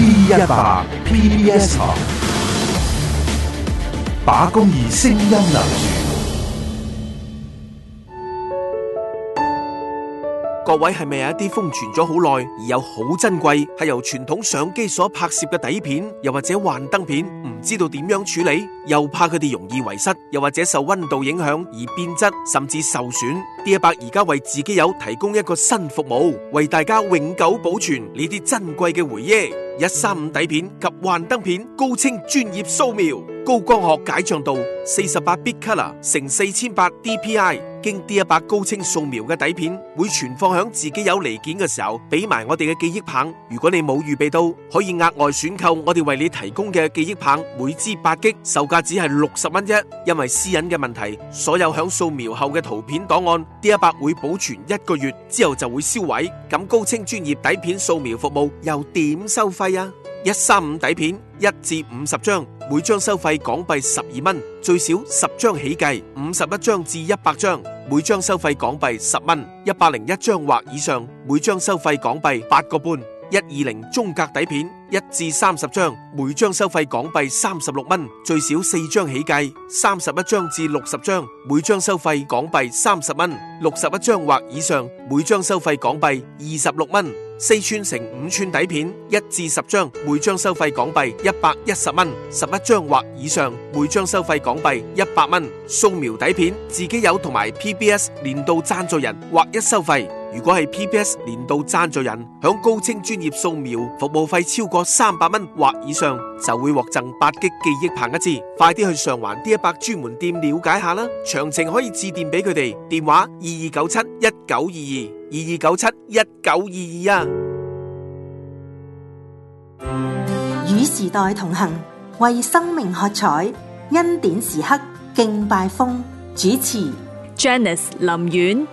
D100 PBS 台，把公義聲音留住。 各位係咪有一啲封存咗好耐而又好珍貴，係由傳統相機所拍攝嘅底片，又或者幻燈片，唔知道點樣處理，又怕佢哋容易遺失，又或者受溫度影響而變質，甚至受損。D100而家為自己友提供一個新服務，為大家永久保存呢啲珍貴嘅回憶。135底片及幻燈片高清專業掃描，高光學解像度48bit color乘4800 DPI， 經D100高清掃描嘅底片會存放響自己有離件嘅時候，俾埋我哋嘅記憶棒。如果你冇預備到，可以額外選購我哋為你提供嘅記憶棒，每支8GB，售價只係60蚊啫。因為私隱嘅問題，所有響掃描後嘅圖片檔案，D100會保存1個月之後就會銷毀。咁高清專業底片掃描服務又點收費啊？135底片1至50張，每張收費港幣12蚊，最少10張起計，51張至100張，每張收費港幣10蚊，101張或以上，每張收費港幣8個半。120中格底片1至30張，每張收費港幣36蚊，最少4張起計，31張至60張，每張收費港幣30蚊，61張或以上，每張收費港幣26蚊。4寸乘5寸底片1至10張，每張收費港幣110蚊，11張或以上，每張收費港幣100蚊。掃描底片自己友同埋 PBS 年度贊助人劃一收費。如果係 PBS 年度贊助人，響高清專業掃描服務費超過300蚊或以上，就會獲贈8GB記憶棒一支。快啲去上環D100專門店了解下啦，詳情可以致電俾佢哋，電話22971922，22971922啊。 與時代同行，為生命喝彩，恩典時刻敬拜風，主持 Janice 林苑。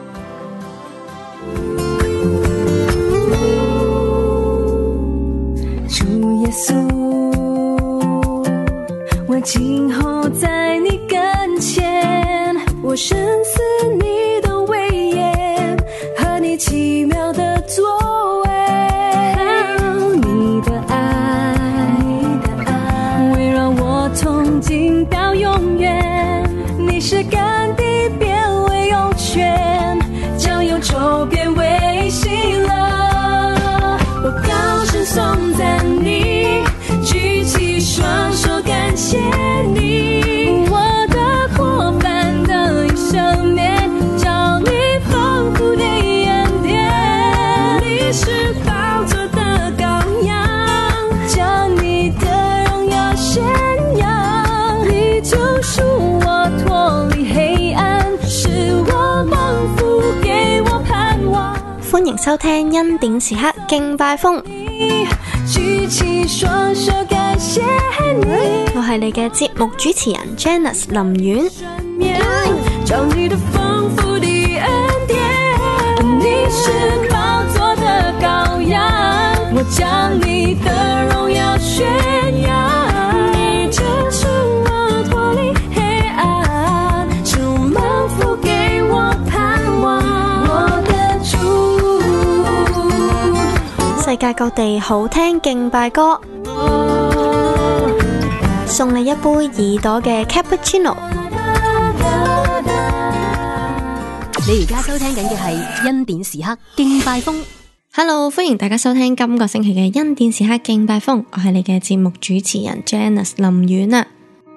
主耶穌，我靜候在你跟前，我深思你的威嚴和你奇妙的作為，你的愛圍繞我從今到永遠，你是乾地變為湧泉，將憂愁變為喜樂，我高聲頌讚你，舉起雙手感謝你，我的過犯的一生面，找你豐富的恩典，你是寶座的羔羊，將你的榮耀宣揚，你救贖我脫離黑暗，使我蒙福給我盼望。 歡迎收聽恩典時刻敬拜風， 舉起雙手感謝你， 我係你嘅節目主持人 Janice 林苑。 找你的豐富的恩典，你是寶座的羔羊，我將你的榮耀宣揚，你救贖我脫離黑暗，使我蒙福給我盼望，我的主。 世界各地好聽敬拜歌，送你一杯耳朵嘅 cappuccino。 你而家收聽緊嘅係恩典時刻敬拜風。 Hello， 歡迎大家收聽今個星期嘅恩典時刻敬拜風，我係你嘅節目主持人 Janice 林苑啊。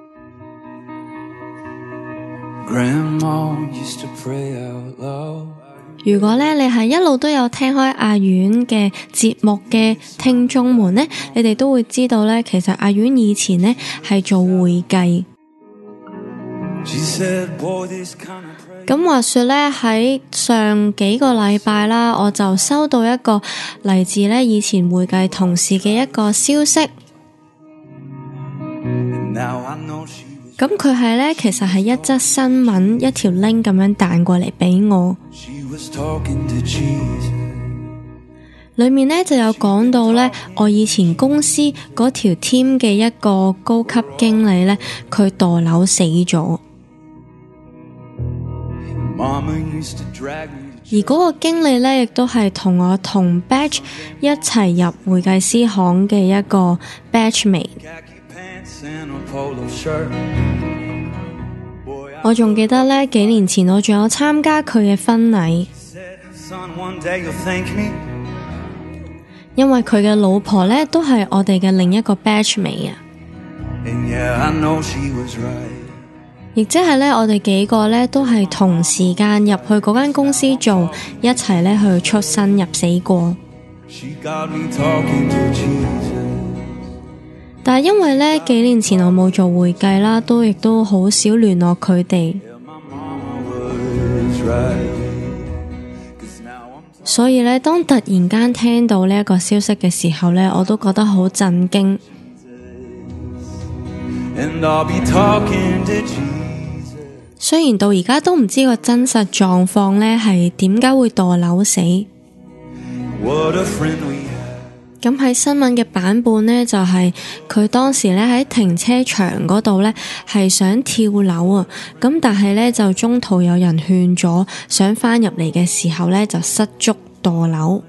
如果咧你係一路都有聽開阿苑嘅節目嘅聽眾們呢，你哋都會知道咧，其實阿苑以前呢係做會計。咁話說咧，喺上幾個禮拜啦，我就收到一個嚟自咧以前會計同事嘅一個消息。咁佢係咧，其實係一則新聞，一條 link 咁樣彈過嚟俾我。裏面咧就有講到咧，我以前公司嗰條 team 嘅一個高級經理咧，佢墮樓死咗。 而嗰個經理呢，亦都係同我同 batch 一齊入會計師行嘅一個 batchmate。我仲記得呢，幾年前我仲有參加佢嘅婚禮，因為佢嘅老婆呢，都係我哋嘅另一個 batchmate 啊。亦即係呢，我哋幾個呢都係同時間入去嗰間公司做，一齊呢去出生入死過。但係因為呢幾年前我冇做會計啦，亦都好少聯絡佢哋，所以呢，當突然間聽到呢一個消息嘅時候呢，我都覺得好震驚。雖然到而家都唔知個真實狀況呢係點解會墮樓死。咁喺新聞嘅版本呢，就係佢當時呢喺停車場嗰度呢係想跳樓啊，咁但係呢，就中途有人勸咗，想返入嚟嘅時候呢，就失足墮樓。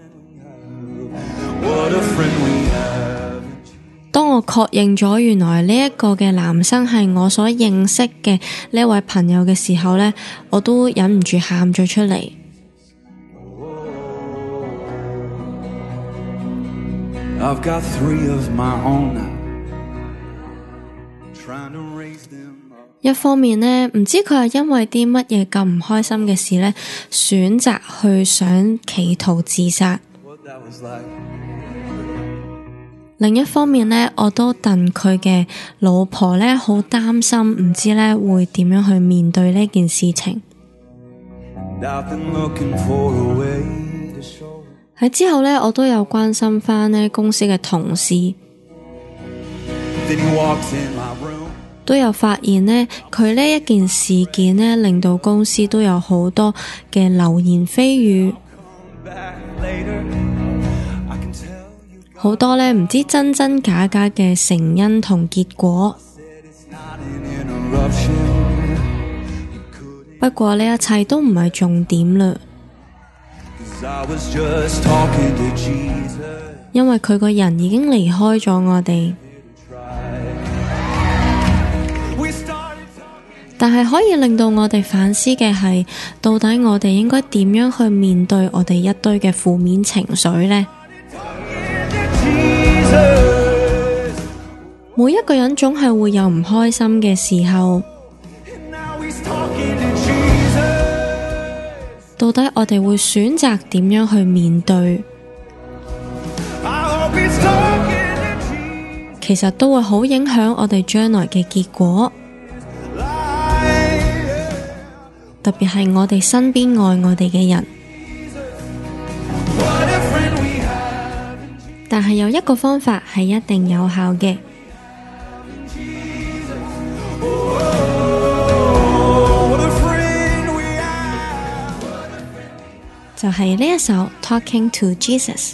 當我確認咗原來呢一個嘅男生係我所認識嘅呢位朋友嘅時候呢，我都忍唔住喊咗出嚟。一方面呢，唔知佢係因為啲乜嘢咁唔開心嘅事呢，選擇去想企圖自殺。另一方面呢，我都戥佢嘅老婆呢好擔心，唔知呢會點樣去面對呢件事情。喺之後呢，我都有關心返呢公司嘅同事，都有發現呢，佢呢一件事件呢令到公司都有好多嘅流言蜚語。好多呢唔知真真假假嘅成因同結果。不過呢一切都唔係重點嘞，因為佢個人已經離開咗我哋。但係可以令到我哋反思嘅係，到底我哋應該點樣去面對我哋一堆嘅負面情緒呢？每一個人總係會有唔開心嘅時候，到底我哋會選擇點樣去面對？其實都會好影響我哋將來嘅結果，特別係我哋身邊愛我哋嘅人。但係有一個方法係一定有效嘅，就係呢一首 Talking to Jesus。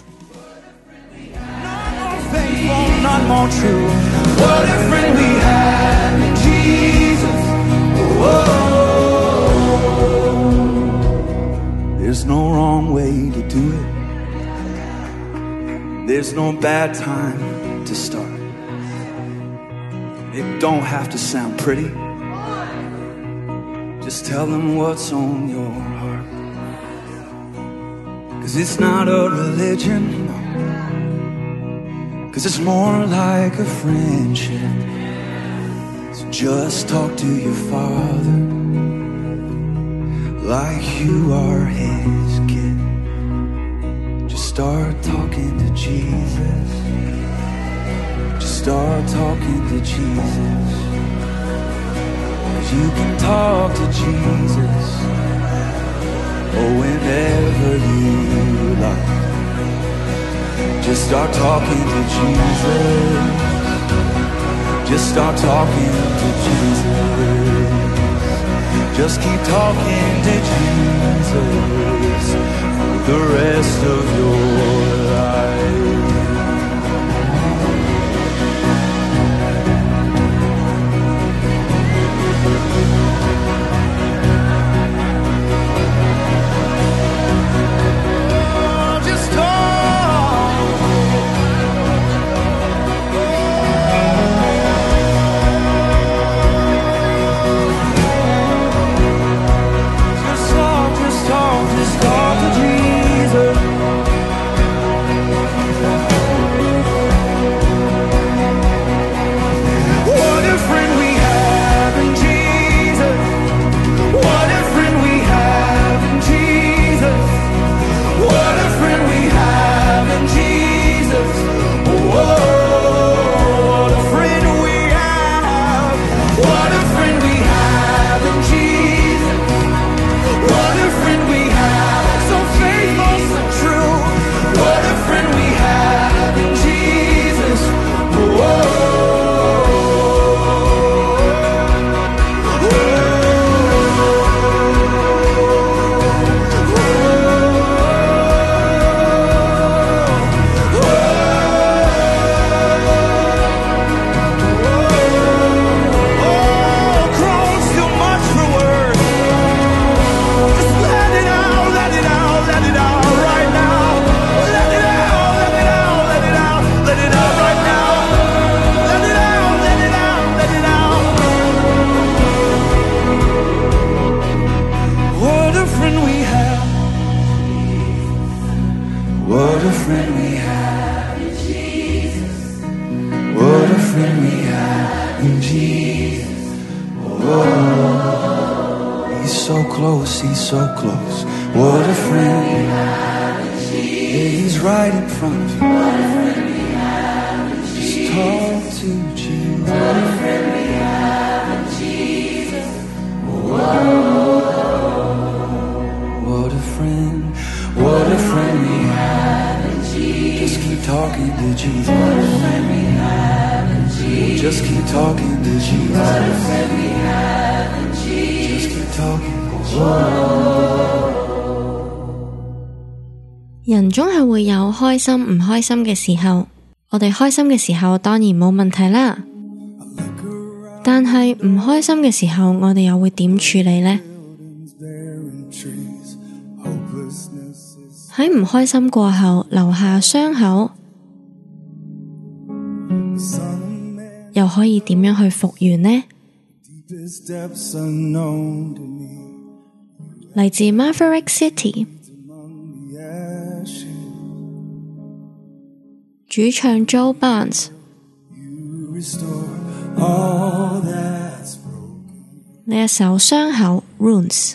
There's no wrong way to do it. There's no bad time to start. It don't have to sound pretty. Just tell them what's on your heart. 'Cause it's not a religion, no. 'Cause it's more like a friendship. So just talk to your Father like you are His kid. Just start talking to Jesus. Just start talking to Jesus. 'Cause you can talk to Jesus, oh, whenever you like. Just start talking to Jesus. Just start talking to Jesus. Just keep talking to Jesus for the rest of your life. friend we have in Jesus. What a friend we have in Jesus. Oh, he's so close, he's so close. What a friend we have in Jesus. Yeah, he's right in front of you. What a friend we have in Jesus. Just talk to Jesus. What a friend we have in Jesus. What a friend, what a friend we have in Jesus. Just keep talking to Jesus. What a friend we have in Jesus. Just keep talking to Jesus. What a friend we have in Jesus. Just keep talking to Jesus. 人總係會有開心唔開心嘅時候，我哋開心嘅時候當然冇問題啦，但係唔開心嘅時候，我哋又會點處理呢？喺唔開心過後留下傷口，又可以點樣去復原呢？嚟自 Maverick City， 主唱 Joe Barnes， 呢一首傷口 Runes。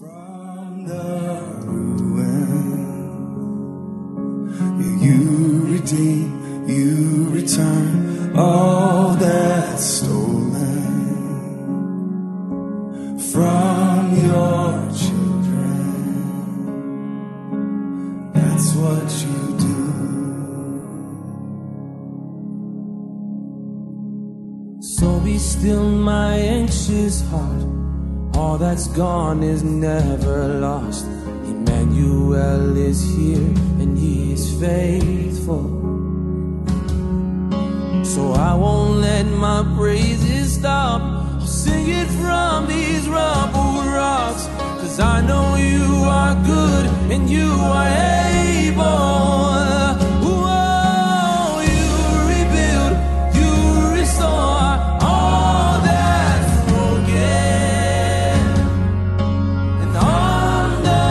You redeem, you return all that's stolen from your children. That's what you do. So be still, my anxious heart. All that's gone is never lost. Emmanuel is here and he is faithful. So I won't let my praises stop. I'll sing it from these rubble rocks. 'Cause I know you are good and you are able. Whoa, you rebuild, you restore all that's broken. And on the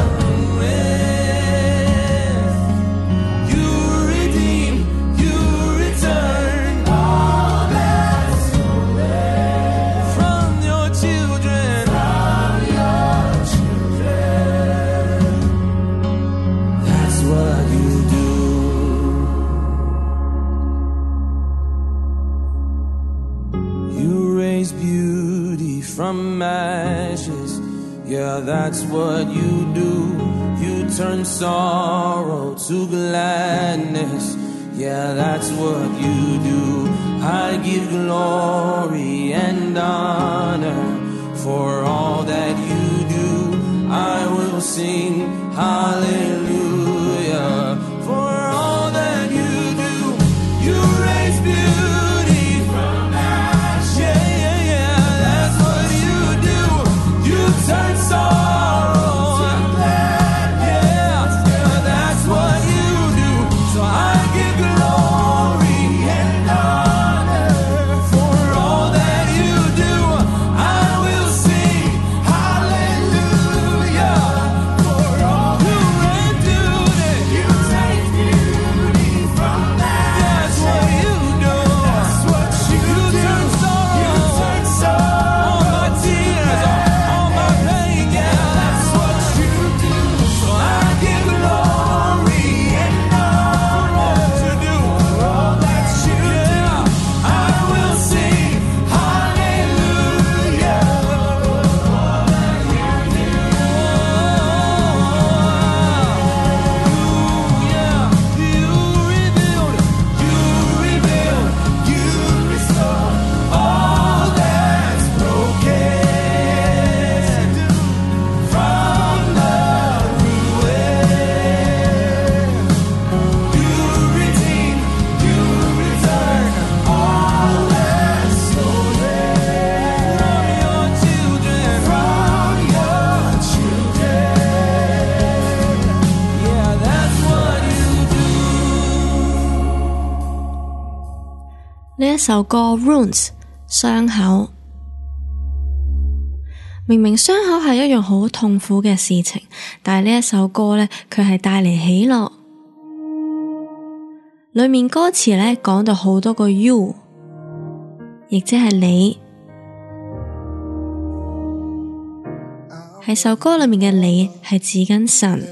ruins, you redeem, you return all that's stolen from your children. From your children. That's what you do. You raise beauty from ashes. Yeah, that's what you do. You turn sorrow to gladness. Yeah, that's what you do. I give glory and honor for all that you do. I will sing hallelujah for all that you do. You raise beauty from ashes. Yeah, yeah, yeah, that's what you do. You turn sorrow to gladness. Yeah, yeah, that's what you do. So I give glory and honor for all that you do. I will sing hallelujah for all you do. You take beauty from ashes. That's what you do. That's what you do. Turn sorrow. You turn sorrow. All my tears, all my pain. Yeah, that's what you do. So I give glory and honor to do all that you do. I will sing hallelujah for all that you do. Yeah, you rebuild, you restore all that's broken from the ruin. You redeem, you return all that's stolen from your children. From your children. Yeah, that's what you do. 呢一首歌 Runes 傷口，明明傷口係一樣好痛苦嘅事情，但係呢一首歌呢，佢係帶嚟喜樂。 裏面歌詞呢講到好多個 you， 亦即係你。喺首歌裏面嘅你係指緊神，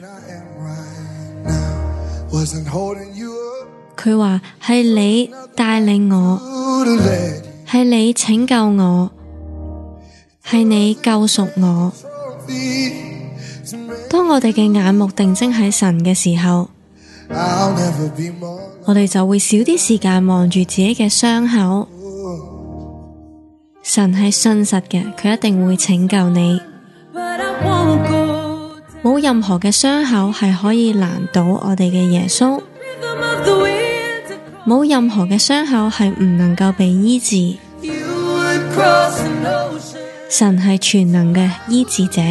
佢話係你帶領我，係你拯救我，係你救贖我。當我哋嘅眼目定睛喺神嘅時候，我哋就會少啲時間望住自己嘅傷口。神係信實嘅，佢一定會拯救你。冇任何嘅傷口係可以難倒我哋嘅耶穌，冇任何嘅傷口係唔能夠被醫治。神係全能嘅醫治者，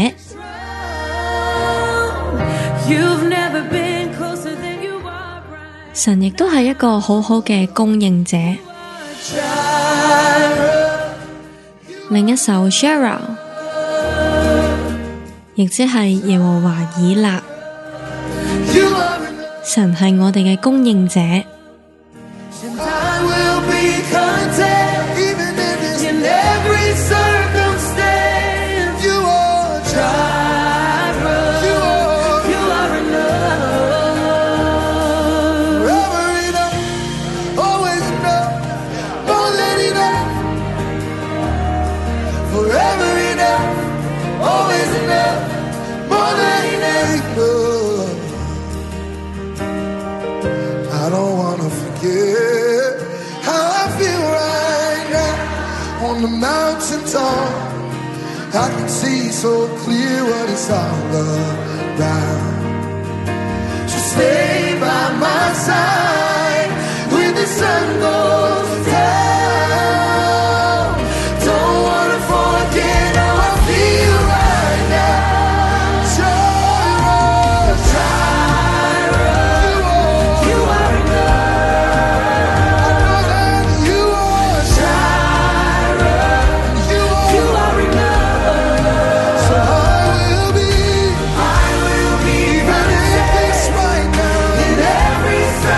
神亦都係一個好好嘅供應者。另一首 Shara， 亦即係耶和華以勒，神係我哋嘅供應者。 On the mountain top, I can see so clear what it's all about. So stay by my side when the sun goes down. Don't wanna forget how I feel right now. Jireh, Jireh, you are enough. I know that you are Jireh. You are enough. So I will be even in this right now. In every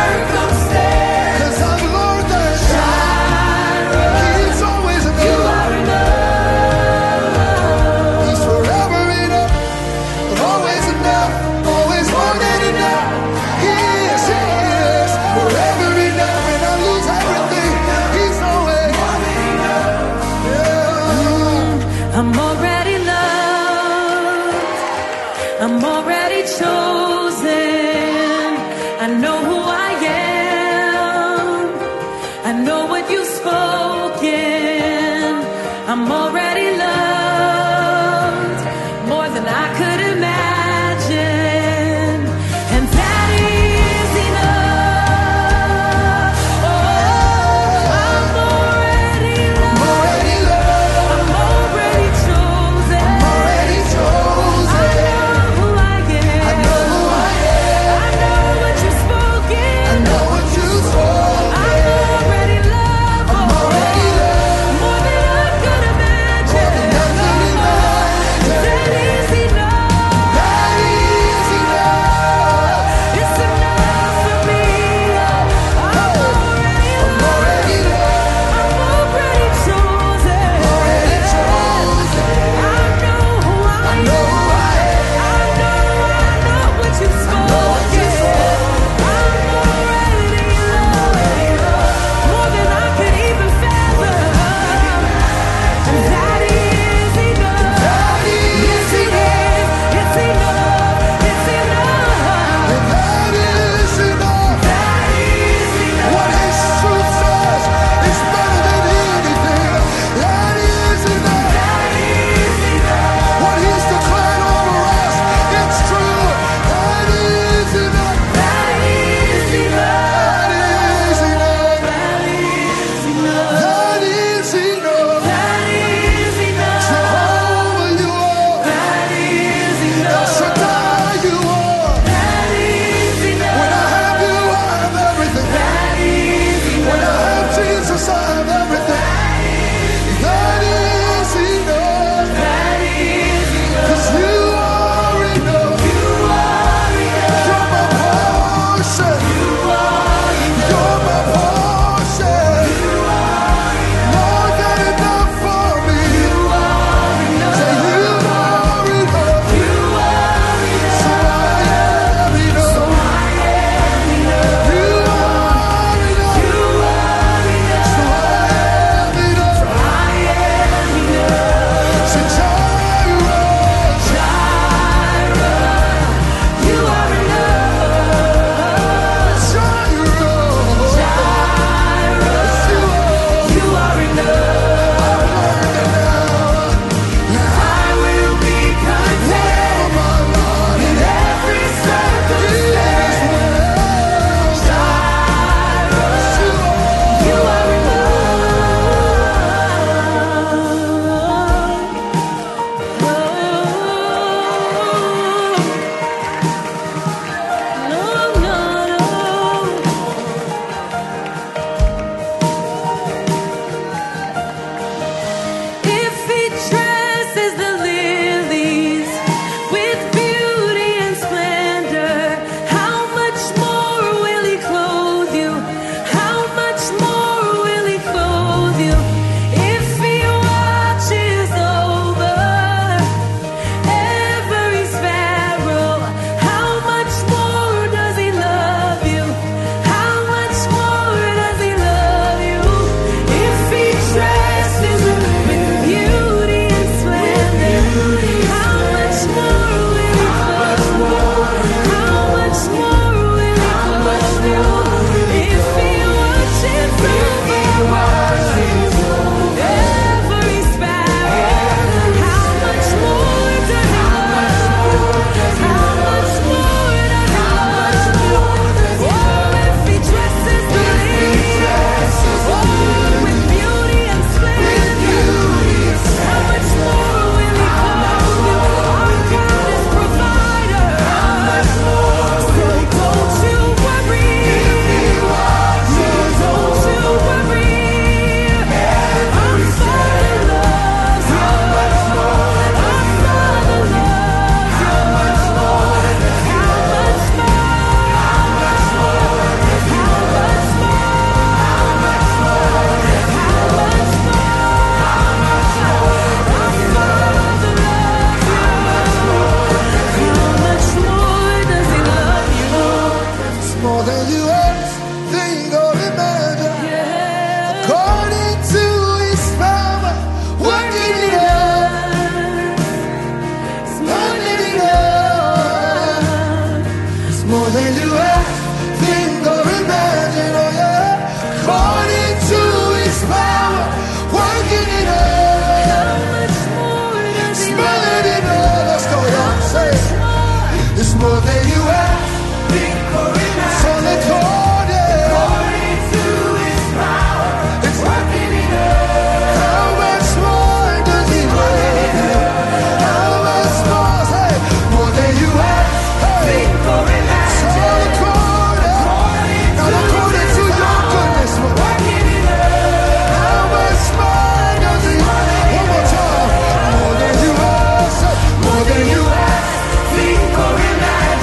ask, think, or imagine, according to His power, working it out, working it out. It's more than you ask, think, or imagine. Oh yeah, according to His power, working it out. It's more than you know. Let's go, y'all. Say it. It's more than you ask, think, or imagine. So let's go, yeah. According to His power, it's working it out. How much more does He love you? How much more? Say, more than you ask, think, or imagine. So let's go, yeah. Not according to your goodness, but working it out. How much more does He love you? One more time. More than you ask, say, more than you ask, think, or imagine.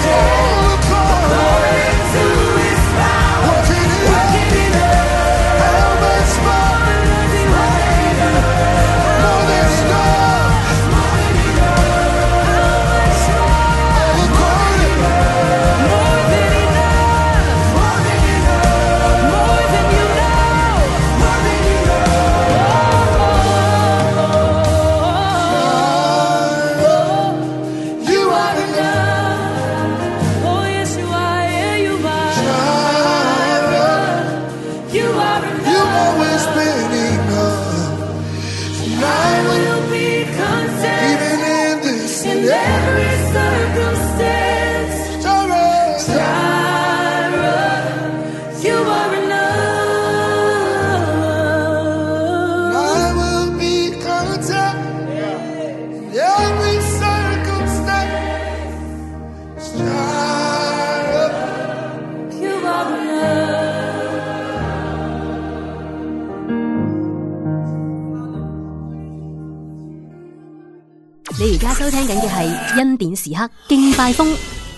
你而家收聽緊嘅係恩典時刻敬拜風。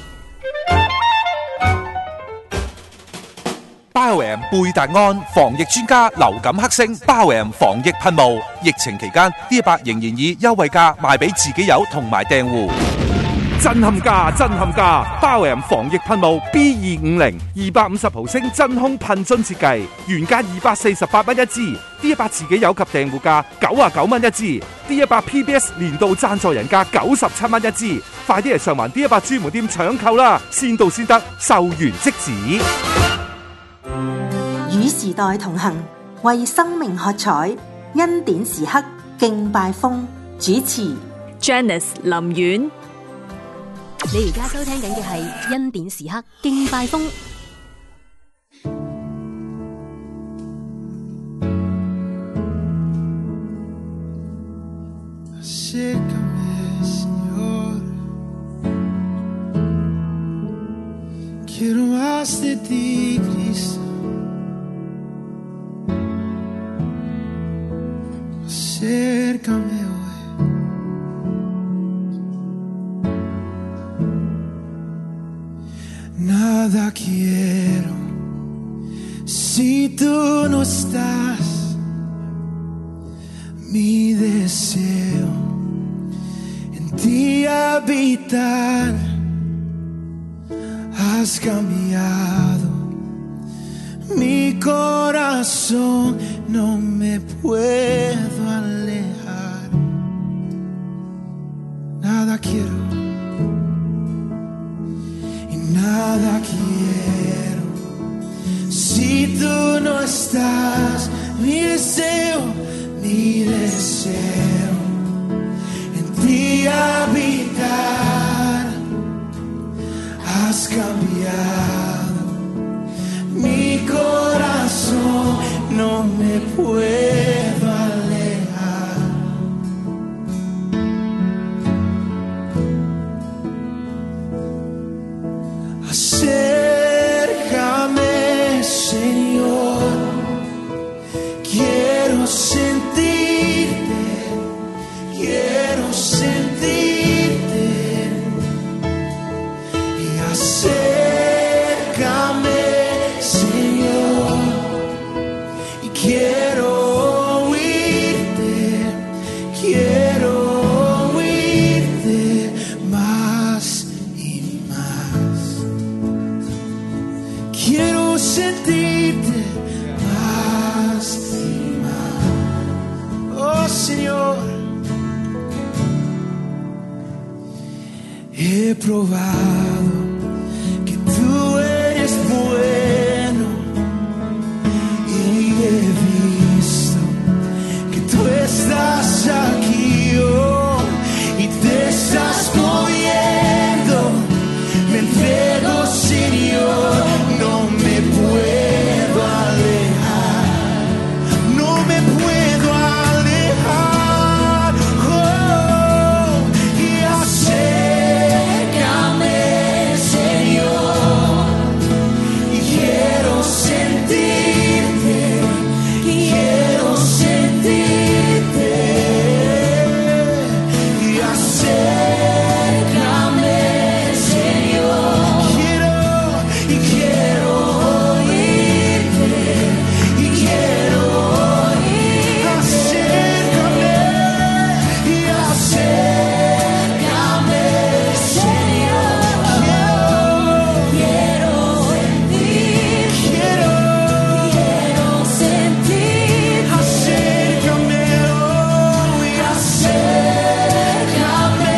Bio-M 貝達安防疫專家流感黑星 Bio-M 防疫噴霧，疫情期間 D100 仍然以優惠價賣俾自己友同埋訂戶。震撼價，震撼價 ！Bio-M 防疫噴霧 B250 250毫升真空噴樽設計，原價248蚊一支 ，D100 自己友及訂戶價99蚊一支 ，D100 PBS 年度贊助人價97蚊一支，快啲嚟上環 D100 專門店搶購啦！先到先得，售完即止。 與時代同行，為生命喝彩，恩典時刻敬拜風，主持 Janice 林苑。 你而家收聽緊嘅係恩典時刻敬拜風。 Acércame, Señor. Quiero más de ti, Cristo. Acércame hoy. Nada quiero si tú no estás. Mi deseo en ti habitar. Has cambiado mi corazón, no me puedo alejar. Nada quiero y nada quiero si tú no estás. Mi deseo en ti habitar. Has cambiado mi corazón, no me puedo alejar. Acércame, Señor, quiero sentirte, quiero sentirte. Y acércame, Señor, y quiero sentirte más y más. Oh Señor, he probado que tú eres bueno y he visto que tú estás aquí hoy y te estás moviendo. Me entrego, Señor, no me puedo alejar, no me puedo alejar. Oh, y acércame, Señor, y quiero sentirte, quiero sentirte. Y acércame, Señor, y quiero oírte, y quiero oír. Acércame, y acércame, Señor, quiero sentir, quiero sentir. Acércame, oh, y acércame,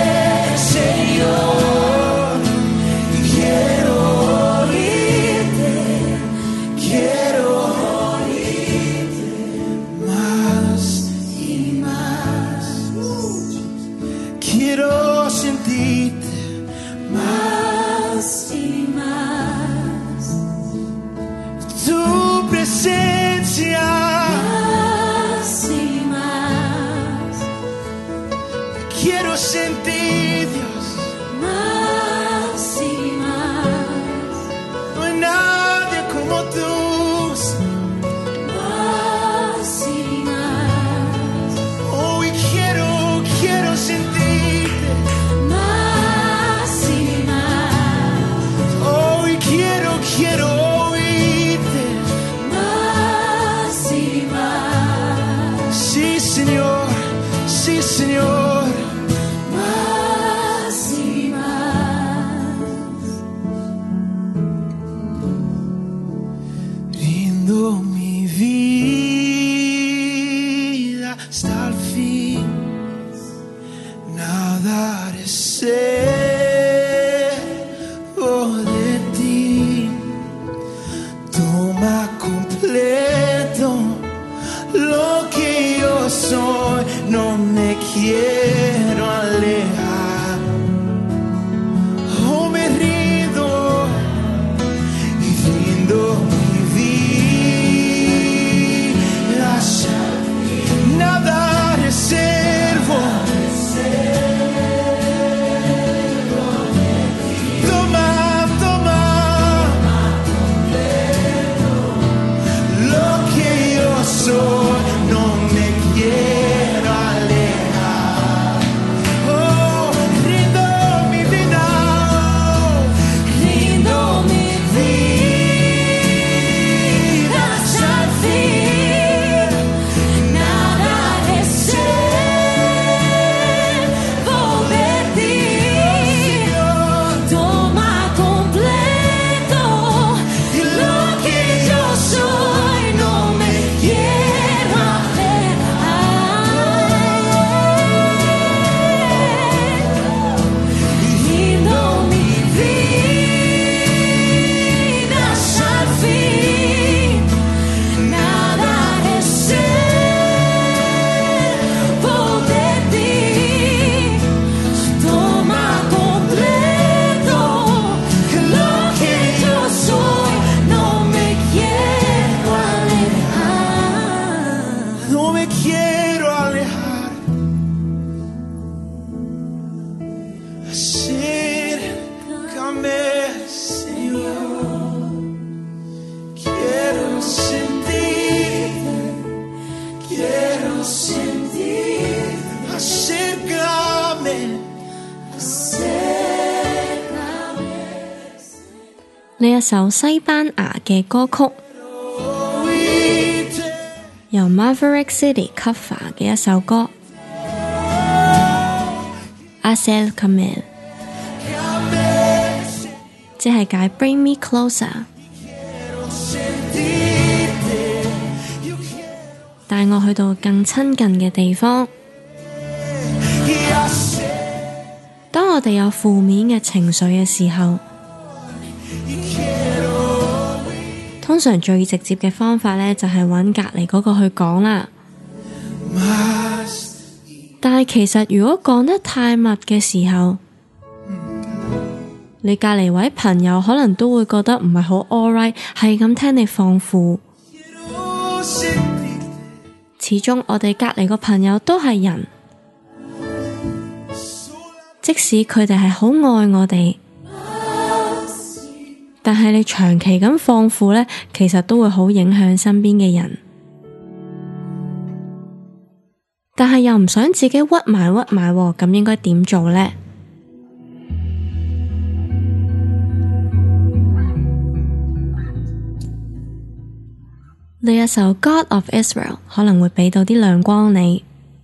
Señor, y quiero oírte, quiero oírte más y más. Quiero sentirte más y más. Tu presencia más y más. Quiero sentir, Dios, más y más. No hay nadie como tú, más y más. Oh, y quiero sentirte más y más. Oh, y quiero oírte más y más. Sí, Señor, sí, Señor, más y más. Rindo mi vida hasta el fin, nada reservo de ti. Toma completo lo que yo soy, no me quiero alejar. Oh, me rindo y rindo mi vida, nada reservo. Toma lo que yo soy, no me quiero alejar. Oh, rindo mi vida, rindo mi vida hasta el fin. Nada reservo de ti. Toma completo lo que yo soy, no me quiero alejar. Rindo mi vida hasta el fin. Nada reservo de ti. Toma completo lo que yo soy, no me quiero alejar, no me quiero alejar. Acércame, Señor, quiero sentirte, quiero sentir. Acércame, acércame. 呢一首西班牙嘅歌曲，由 Maverick City cover 嘅一首歌，Acércame， 即係解 Bring Me Closer。 帶我去到更親近嘅地方。當我哋有負面嘅情緒嘅時候，通常最直接嘅方法呢，就係揾隔離嗰個去講啦。但係其實如果講得太密嘅時候，你隔離位朋友可能都會覺得唔係好 alright， 係咁聽你放負。始終我哋隔離個朋友都係人，即使佢哋係好愛我哋，但係你長期咁放負呢，其實都會好影響身邊嘅人。但係又唔想自己屈埋，咁應該點做呢？呢一首 God of Israel 可能會俾到啲亮光你。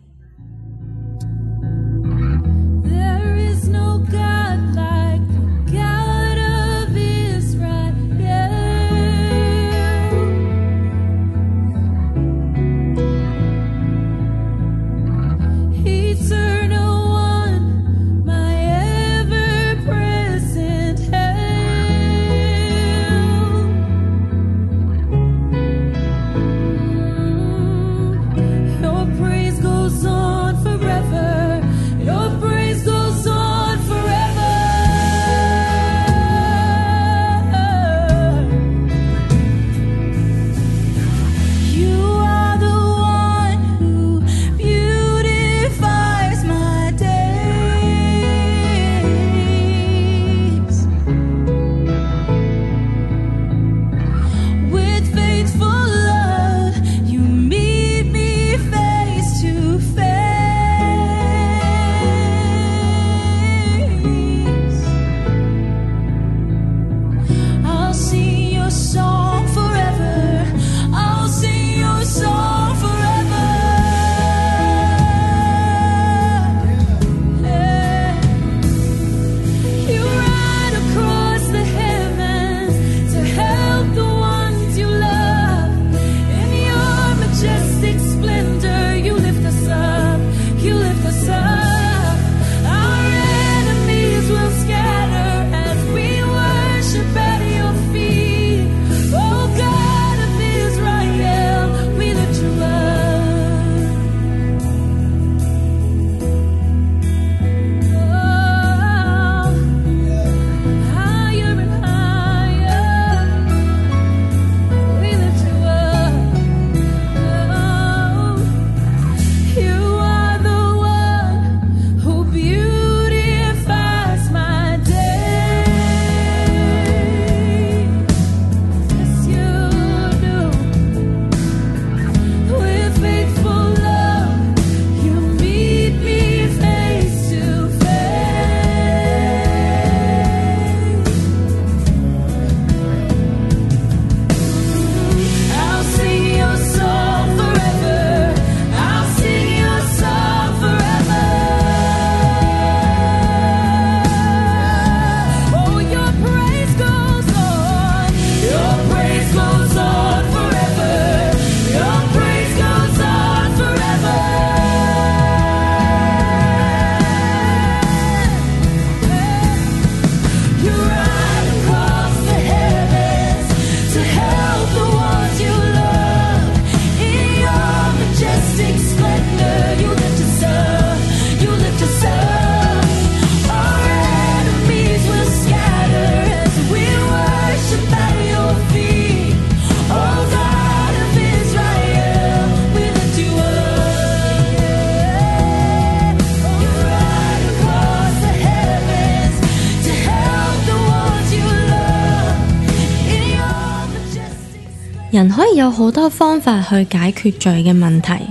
人可以有好多方法去解決罪嘅問題，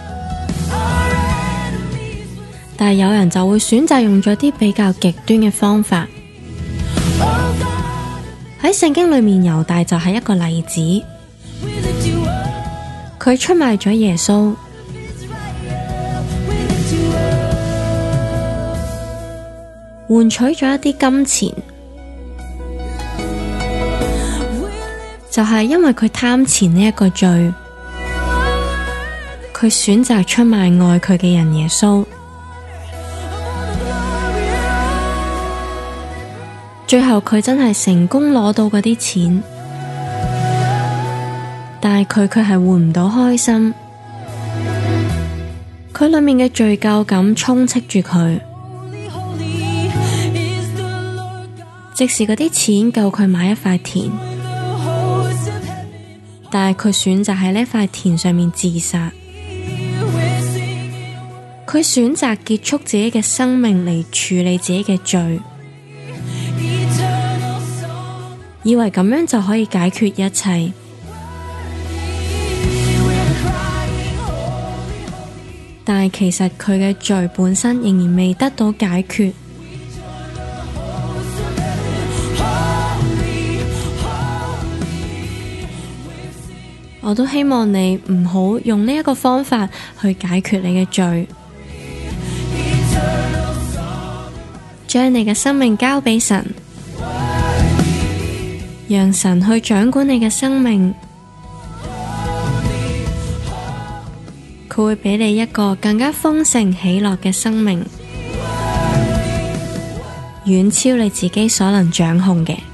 但係有人就會選擇用咗啲比較極端嘅方法。喺聖經裏面，猶大就係一個例子，佢出賣咗耶穌，換取咗一啲金錢。就係因為佢貪錢呢一個罪， 佢選擇出賣愛佢嘅人耶穌。最後佢真係成功攞到嗰啲錢，但係佢卻係換唔到開心。佢裏面嘅罪疚感充斥住佢，即使嗰啲錢夠佢買一塊田，但係佢選擇喺呢塊田上面自殺。佢選擇結束自己嘅生命嚟處理自己嘅罪，以為咁樣就可以解決一切。但係其實佢嘅罪本身仍然未得到解決。我都希望你唔好用呢一個方法去解決你嘅罪，將你嘅生命交俾神，讓神去掌管你嘅生命。佢會俾你一個更加豐盛喜樂嘅生命，遠超你自己所能掌控嘅。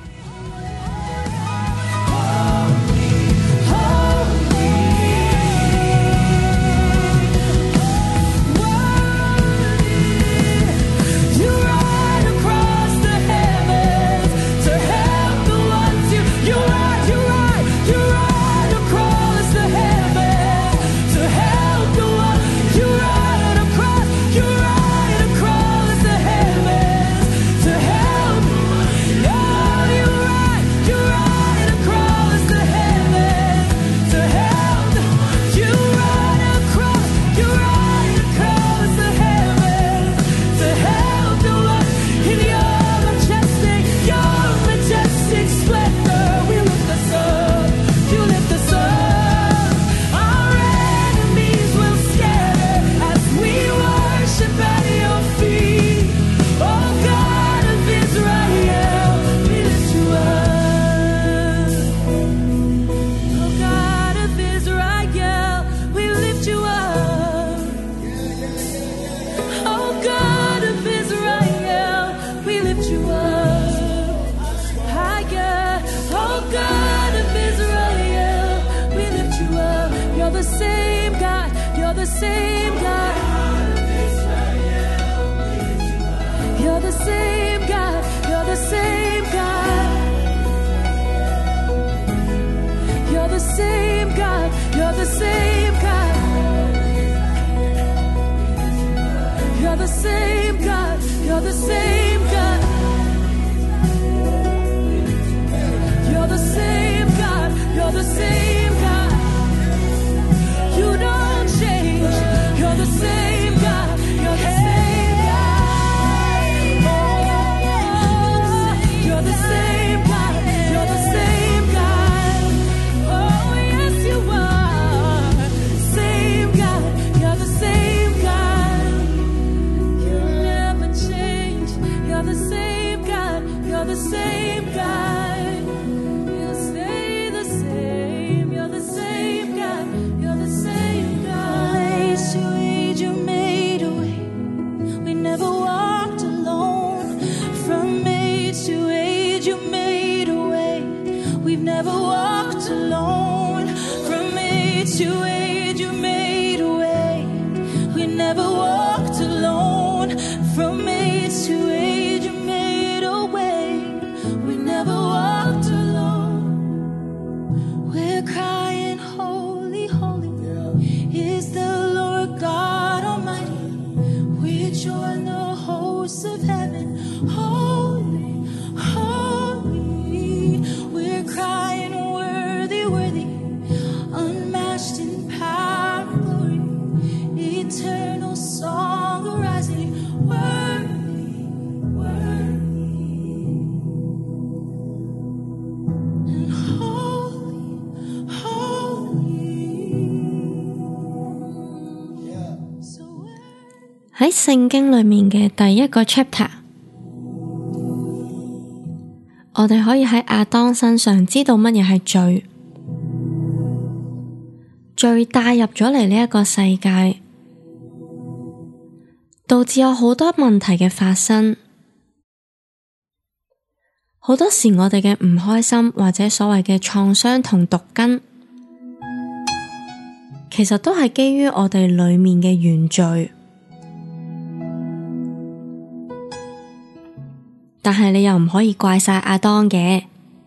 喺聖經裏面嘅第一個 chapter， 我哋可以喺亞當身上知道乜嘢係罪。 罪帶入咗嚟呢一個世界，導致有好多問題嘅發生。好多時我哋嘅唔開心或者所謂嘅創傷同毒根，其實都係基於我哋裏面嘅原罪。但係你又唔可以怪晒亞當嘅，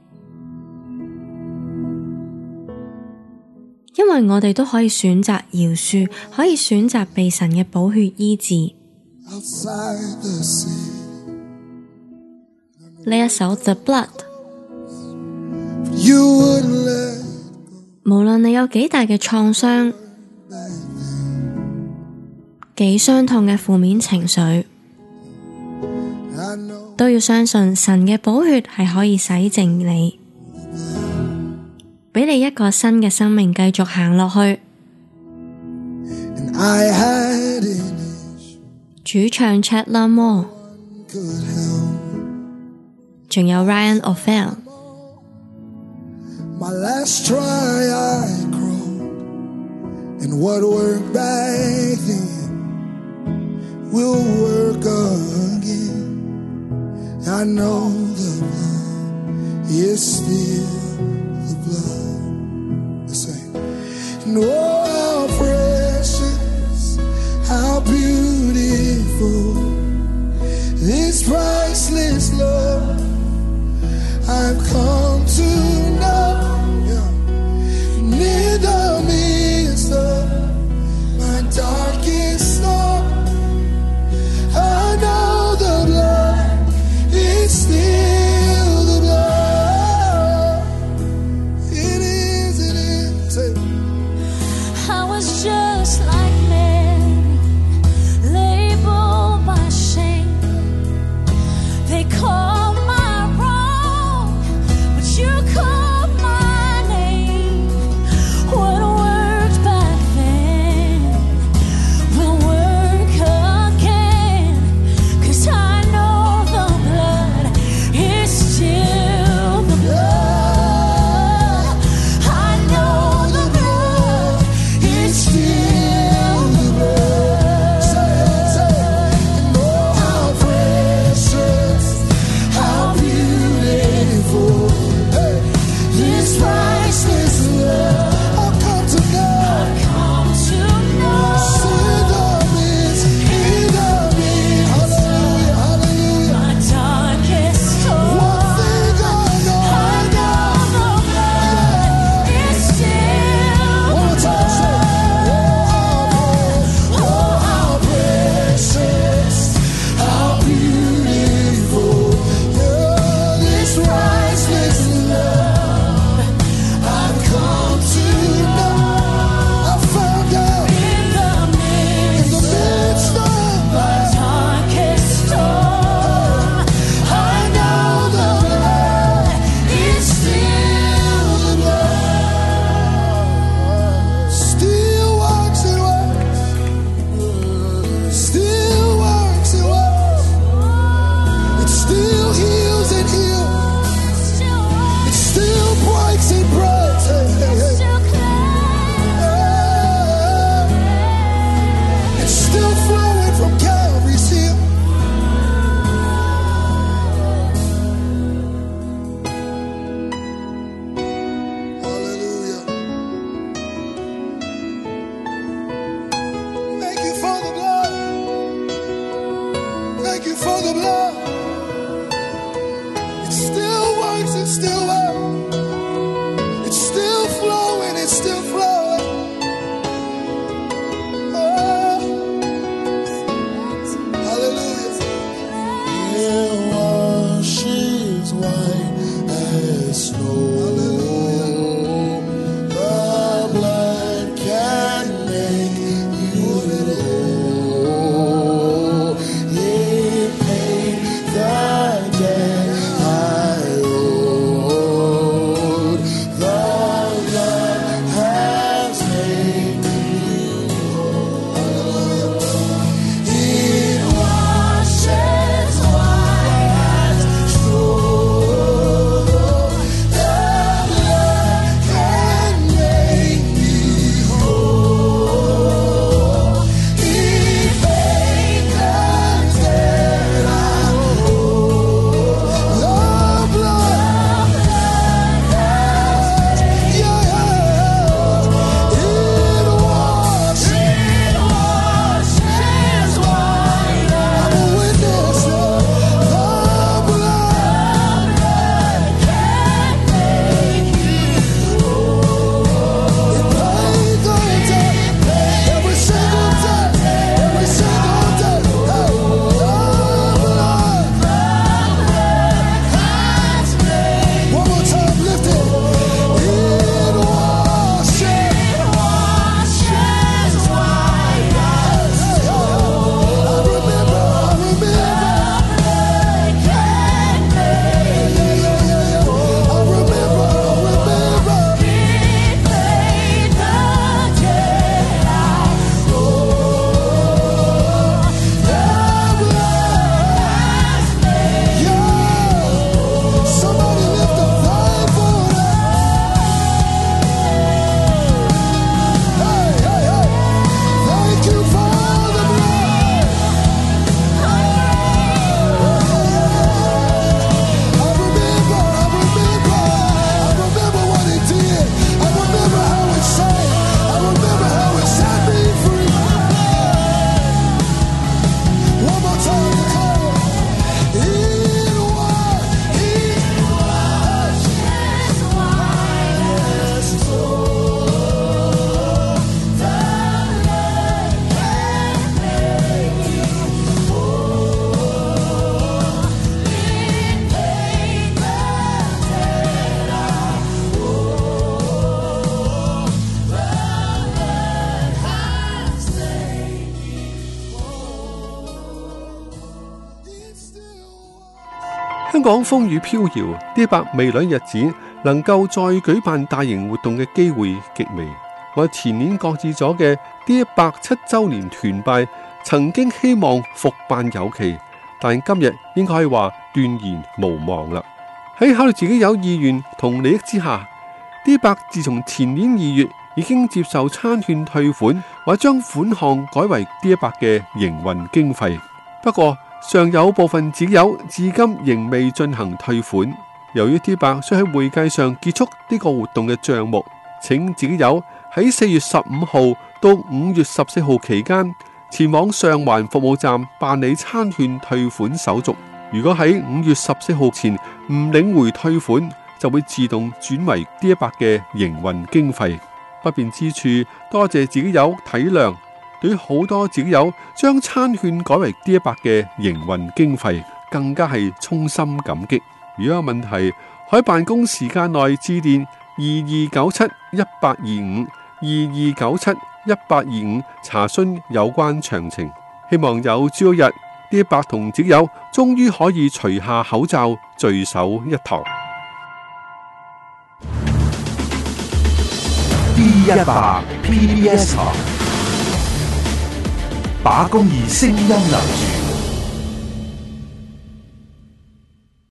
因為我哋都可以選擇饒恕，可以選擇被神嘅寶血醫治。呢一首 The Blood， 無論你有幾大嘅創傷，幾傷痛嘅負面情緒，都要相信神嘅寶血係可以洗淨你，俾你一個新嘅生命繼續行落去。主唱 Chet Lamore， 仲有 Ryan O'Fell。 My last try I crawled, and what worked back then will work again. I know the blood is still the blood. Let's sing. And oh, how precious, how beautiful, this priceless love I've come to know. Near the midst of my darkest storm, I know the blood is still the blood. It is. I was just like Mary, labeled by shame. They called my wrong, but 香港風雨飄搖，D100未來日子能夠再舉辦大型活動嘅機會極微。我前年擱置咗嘅 D100 7週年團拜，曾經希望復辦有期，但今日應該可以話斷然無望啦。喺考慮自己有意願同利益之下，D100自從前年2月已經接受餐券退款，或將款項改為 D100嘅營運經費。不過尚有部分自己友至今仍未進行退款。由於 D100需喺會計上結束呢個活動嘅賬目，請自己友喺4月15號到5月14號期間前往上環服務站辦理餐券退款手續。如果喺5月14號前唔領回退款，就會自動轉為 D100嘅營運經費。不便之處，多謝自己友體諒。對於好多自己友將餐券改為 D100嘅營運經費，更加係衷心感激。如果有問題，可喺辦公時間內致電2297-1825 2297-1825查詢有關詳情。希望有朝一日，D100同自己友終於可以除下口罩，聚首一堂。 D100 PBS 台，把公義聲音留住。